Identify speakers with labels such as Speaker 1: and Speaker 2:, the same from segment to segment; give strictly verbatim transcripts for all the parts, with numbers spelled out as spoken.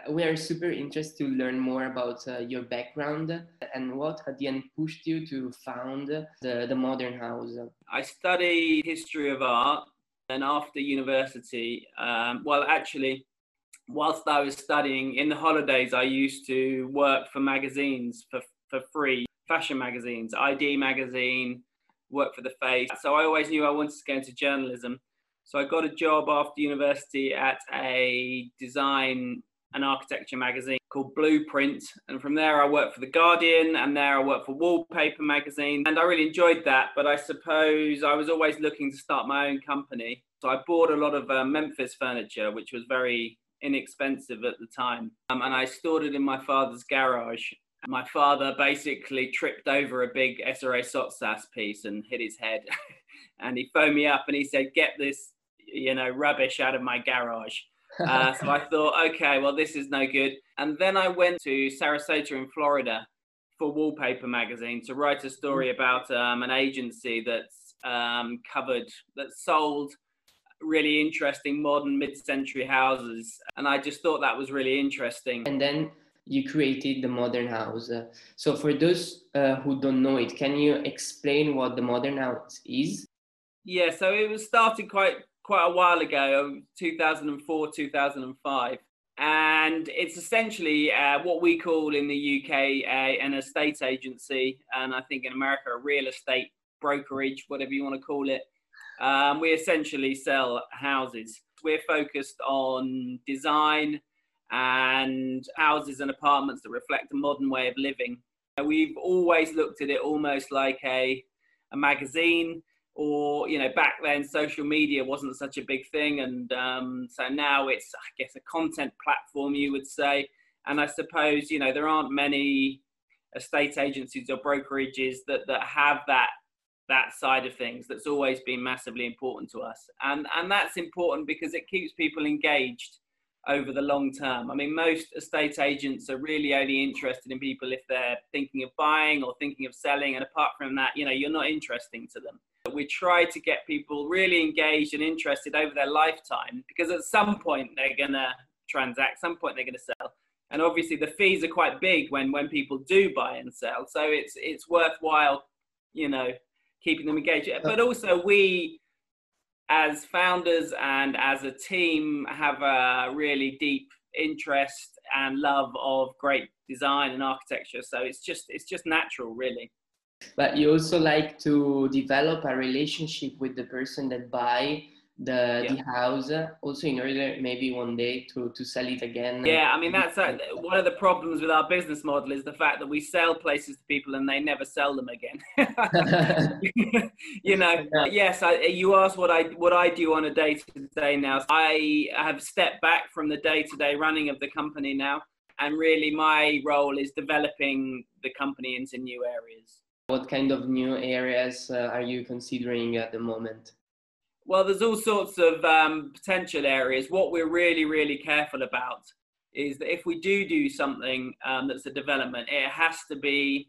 Speaker 1: We are super interested to learn more about uh, your background and what at the end pushed you to found the, the Modern House.
Speaker 2: I studied history of art, and after university, um, well, actually, whilst I was studying in the holidays, I used to work for magazines for, for free, fashion magazines, I D magazine, work for The Face. So I always knew I wanted to go into journalism. So I got a job after university at a design and architecture magazine called Blueprint. And from there I worked for The Guardian, and there I worked for Wallpaper magazine. And I really enjoyed that, but I suppose I was always looking to start my own company. So I bought a lot of uh, Memphis furniture, which was very inexpensive at the time. Um, and I stored it in my father's garage. My father basically tripped over a big S R A Sotsas piece and hit his head. And he phoned me up and he said, get this, you know, rubbish out of my garage. Uh, so I thought, okay, well, this is no good. And then I went to Sarasota in Florida for Wallpaper magazine to write a story about um, an agency that's um, covered, that sold really interesting modern mid-century houses. And I just thought that was really interesting.
Speaker 1: And then you created the Modern House. Uh, so for those uh, who don't know it, can you explain what the Modern House is?
Speaker 2: Yeah, so it was started quite quite a while ago, two thousand four, two thousand five. And it's essentially uh, what we call in the U K uh, an estate agency, and I think in America a real estate brokerage, whatever you want to call it. Um, we essentially sell houses. We're focused on design and houses and apartments that reflect a modern way of living. We've always looked at it almost like a, a magazine. Or, you know, back then social media wasn't such a big thing. And um, so now it's, I guess, a content platform, you would say. And I suppose, you know, there aren't many estate agencies or brokerages that, that have that that side of things. That's always been massively important to us. And, and that's important because it keeps people engaged over the long term. I mean, most estate agents are really only interested in people if they're thinking of buying or thinking of selling. And apart from that, you know, you're not interesting to them. We try to get people really engaged and interested over their lifetime, because at some point they're going to transact, some point they're going to sell. And obviously the fees are quite big when, when people do buy and sell. So it's, it's worthwhile, you know, keeping them engaged. But also we, as founders and as a team, have a really deep interest and love of great design and architecture. So it's just, it's just natural, really.
Speaker 1: But you also like to develop a relationship with the person that buy the,
Speaker 2: yeah.
Speaker 1: the house, also in order maybe one day to, to sell it again.
Speaker 2: Yeah, I mean, that's uh, one of the problems with our business model is the fact that we sell places to people and they never sell them again. You know, yes, I, you asked what I, what I do on a day-to-day now. I have stepped back from the day-to-day running of the company now. And really my role is developing the company into new areas.
Speaker 1: What kind of new areas uh, are you considering at the moment?
Speaker 2: Well, there's all sorts of um, potential areas. What we're really, really careful about is that if we do do something um, that's a development, it has to be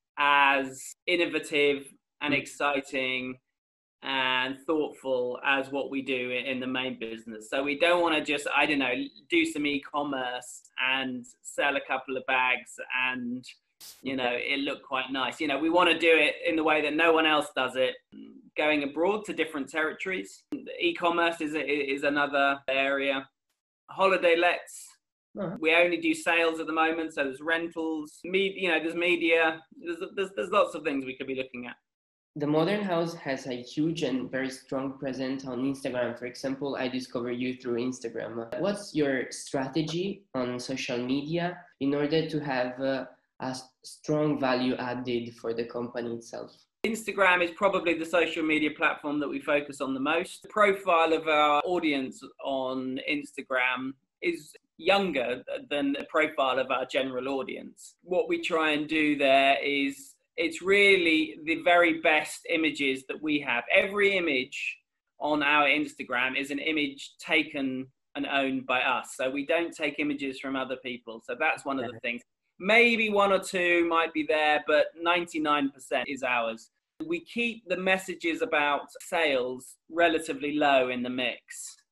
Speaker 2: as innovative and exciting and thoughtful as what we do in the main business. So we don't want to just, I don't know, do some e-commerce and sell a couple of bags and, you know, it looked quite nice. You know, we want to do it in the way that no one else does it, going abroad to different territories. E-commerce is, is another area. Holiday lets. Uh-huh. We only do sales at the moment, so there's rentals, me, you know, there's media, there's, there's, there's lots of things we could be looking at.
Speaker 1: The Modern House has a huge and very strong presence on Instagram. For example, I discovered you through Instagram. What's your strategy on social media in order to have uh, a strong value added for the company itself?
Speaker 2: Instagram is probably the social media platform that we focus on the most. The profile of our audience on Instagram is younger than the profile of our general audience. What we try and do there is, it's really the very best images that we have. Every image on our Instagram is an image taken and owned by us. So we don't take images from other people. So that's one of the things. Maybe one or two might be there, but ninety-nine percent is ours. We keep the messages about sales relatively low in the mix.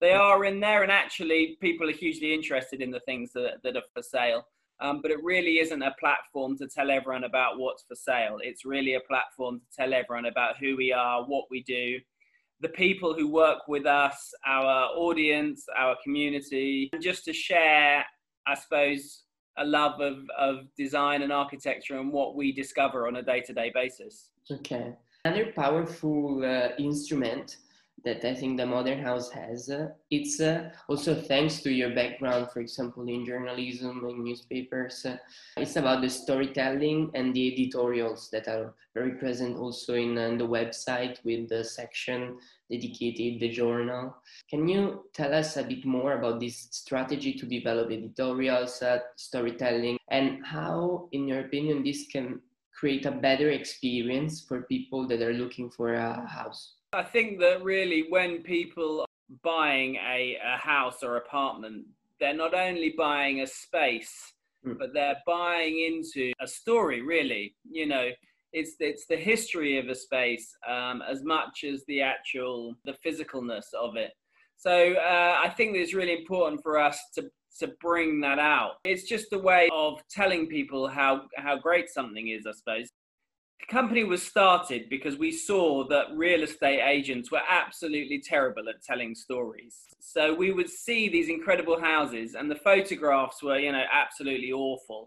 Speaker 2: They are in there, and actually people are hugely interested in the things that, that are for sale. Um, but it really isn't a platform to tell everyone about what's for sale. It's really a platform to tell everyone about who we are, what we do, the people who work with us, our audience, our community, and just to share, I suppose, a love of, of design and architecture and what we discover on a day-to-day basis.
Speaker 1: Okay. Another powerful uh, instrument that I think the Modern House has, uh, it's uh, also thanks to your background, for example, in journalism and newspapers. Uh, it's about the storytelling and the editorials that are very present also in, uh, the website with the section dedicated the journal. Can you tell us a bit more about this strategy to develop editorials, uh, storytelling, and how, in your opinion, this can create a better experience for people that are looking for a house?
Speaker 2: I think that really when people are buying a, a house or apartment, they're not only buying a space, mm. but they're buying into a story, really. You know, it's, it's the history of a space um, as much as the actual, the physicalness of it. So uh, I think that it's really important for us to, to bring that out. It's just a way of telling people how, how great something is, I suppose. The company was started because we saw that real estate agents were absolutely terrible at telling stories. So we would see these incredible houses and the photographs were, you know, absolutely awful.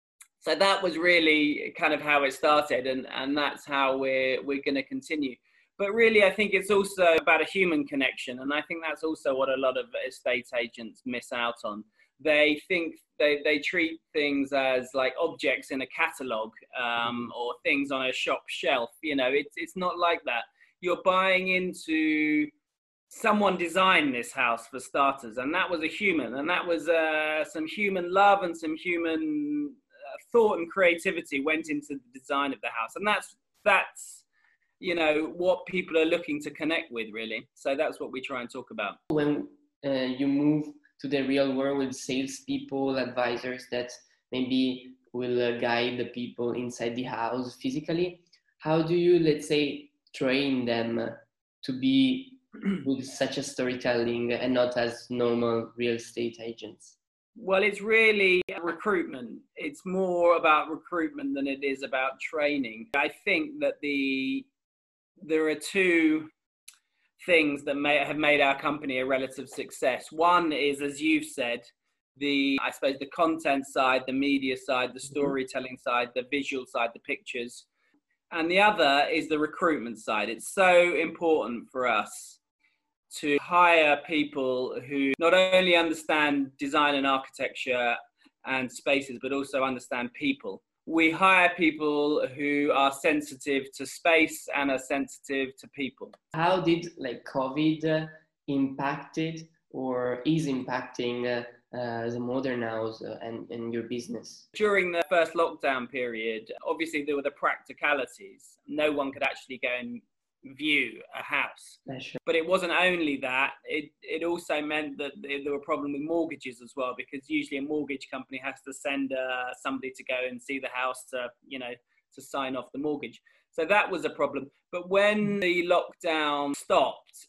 Speaker 2: So that was really kind of how it started, and, and that's how we're, we're going to continue. But really, I think it's also about a human connection. And I think that's also what a lot of estate agents miss out on. They think they, they treat things as like objects in a catalogue um, or things on a shop shelf. You know, it's, it's not like that. You're buying into someone designed this house for starters, and that was a human, and that was uh, some human love and some human uh, thought and creativity went into the design of the house. And that's, that's, you know, what people are looking to connect with, really. So that's what we try and talk about.
Speaker 1: When uh, you move to the real world with salespeople, advisors that maybe will uh, guide the people inside the house physically, how do you, let's say, train them to be with such a storytelling and not as normal real estate agents?
Speaker 2: Well, it's really recruitment. It's more about recruitment than it is about training. I think that the there are two things that may have made our company a relative success. One is, as you've said, the, I suppose, the content side, the media side, the storytelling side, the visual side, the pictures. And the other is the recruitment side. It's so important for us to hire people who not only understand design and architecture and spaces, but also understand people. We hire people who are sensitive to space and are sensitive to people.
Speaker 1: How did like COVID uh, impacted or is impacting uh, uh, the Modern House uh, and, and your business?
Speaker 2: During the first lockdown period, obviously there were the practicalities. No one could actually go and view a house.
Speaker 1: Yeah, sure.
Speaker 2: But it wasn't only that, it, it also meant that there were problems with mortgages as well, because usually a mortgage company has to send uh, somebody to go and see the house to, you know, to sign off the mortgage. So that was a problem. But when the lockdown stopped,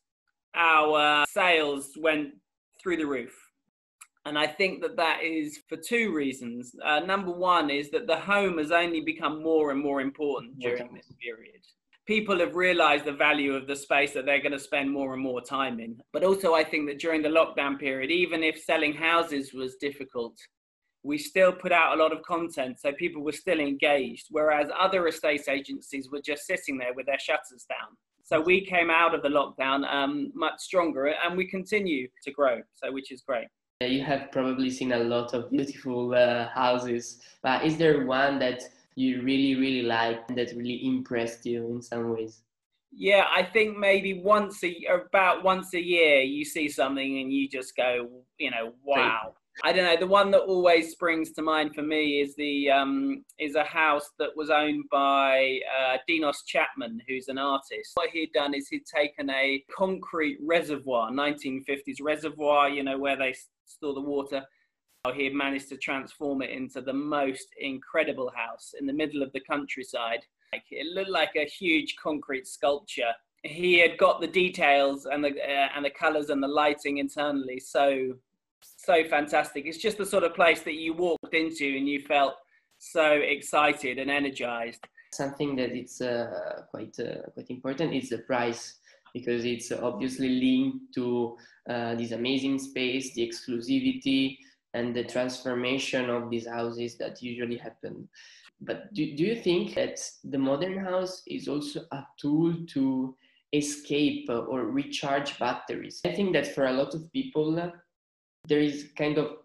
Speaker 2: our sales went through the roof. And I think that that is for two reasons. Uh, number one is that the home has only become more and more important during this period. People have realized the value of the space that they're going to spend more and more time in. But also I think that during the lockdown period, even if selling houses was difficult, we still put out a lot of content, so people were still engaged, whereas other estate agencies were just sitting there with their shutters down. So we came out of the lockdown um, much stronger, and we continue to grow, so which is great.
Speaker 1: You have probably seen a lot of beautiful uh, houses, but is there one that you really, really like, that really impressed you in some ways?
Speaker 2: Yeah, I think maybe once a about once a year you see something and you just go, you know, wow. I don't know. The one that always springs to mind for me is the um, is a house that was owned by uh, Dinos Chapman, who's an artist. What he'd done is he'd taken a concrete reservoir, nineteen fifties reservoir, you know, where they store the water. He had managed to transform it into the most incredible house in the middle of the countryside. Like, it looked like a huge concrete sculpture he had got the details and the uh, and the colors and the lighting internally so so fantastic. It's just the sort of place that you walked into and you felt so excited and energized.
Speaker 1: Something that it's uh, quite uh, quite important is the price, because it's obviously linked to uh, this amazing space, the exclusivity, and the transformation of these houses that usually happen. But do, do you think that the modern house is also a tool to escape or recharge batteries? I think that for a lot of people, uh, there is kind of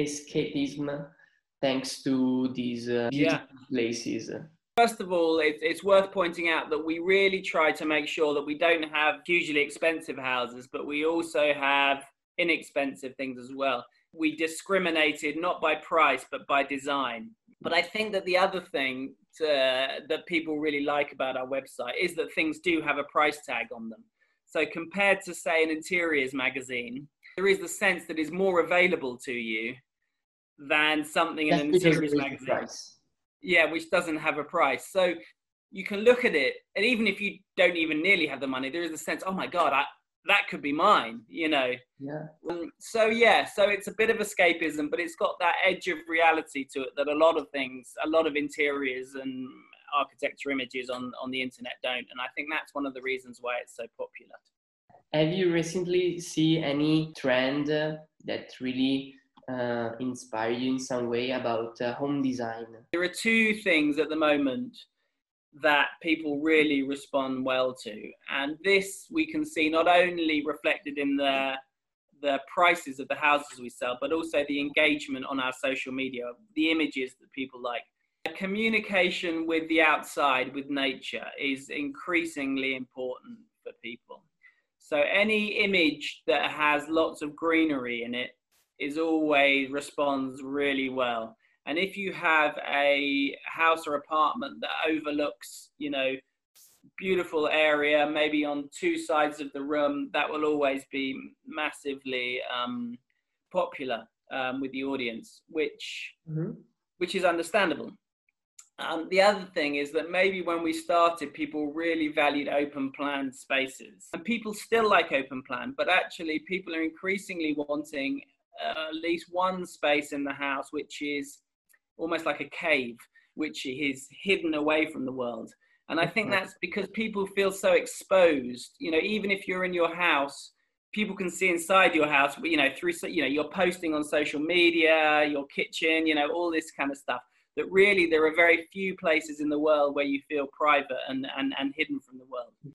Speaker 1: escapism thanks to these uh, beautiful yeah. places.
Speaker 2: First of all, it's, it's worth pointing out that we really try to make sure that we don't have hugely expensive houses, but we also have inexpensive things as well. We discriminated not by price, but by design. But I think that the other thing to, that people really like about our website is that things do have a price tag on them. So compared to, say, an interiors magazine, there is the sense that is more available to you than something in an interiors magazine. Yeah, which doesn't have a price. So you can look at it, and even if you don't even nearly have the money, there is a sense, oh my God, I, that could be mine, you know?
Speaker 1: Yeah.
Speaker 2: Um, so yeah, so it's a bit of escapism, but it's got that edge of reality to it that a lot of things, a lot of interiors and architecture images on, on the internet don't. And I think that's one of the reasons why it's so popular.
Speaker 1: Have you recently seen any trend uh, that really uh, inspire you in some way about uh, home design?
Speaker 2: There are two things at the moment that people really respond well to, and this we can see not only reflected in the the prices of the houses we sell, but also the engagement on our social media, the images that people like. Communication with the outside, with nature, is increasingly important for people. So any image that has lots of greenery in it is always responds really well. And if you have a house or apartment that overlooks, you know, beautiful area, maybe on two sides of the room, that will always be massively um, popular um, with the audience, which, mm-hmm. which is understandable. Um, the other thing is that maybe when we started, people really valued open plan spaces. And people still like open plan, but actually people are increasingly wanting uh, at least one space in the house which is almost like a cave, which is hidden away from the world. And I think that's because people feel so exposed. You know, even if you're in your house, people can see inside your house, you know, through, you know, you're posting on social media, your kitchen, you know, all this kind of stuff, that really there are very few places in the world where you feel private and, and, and hidden from the world.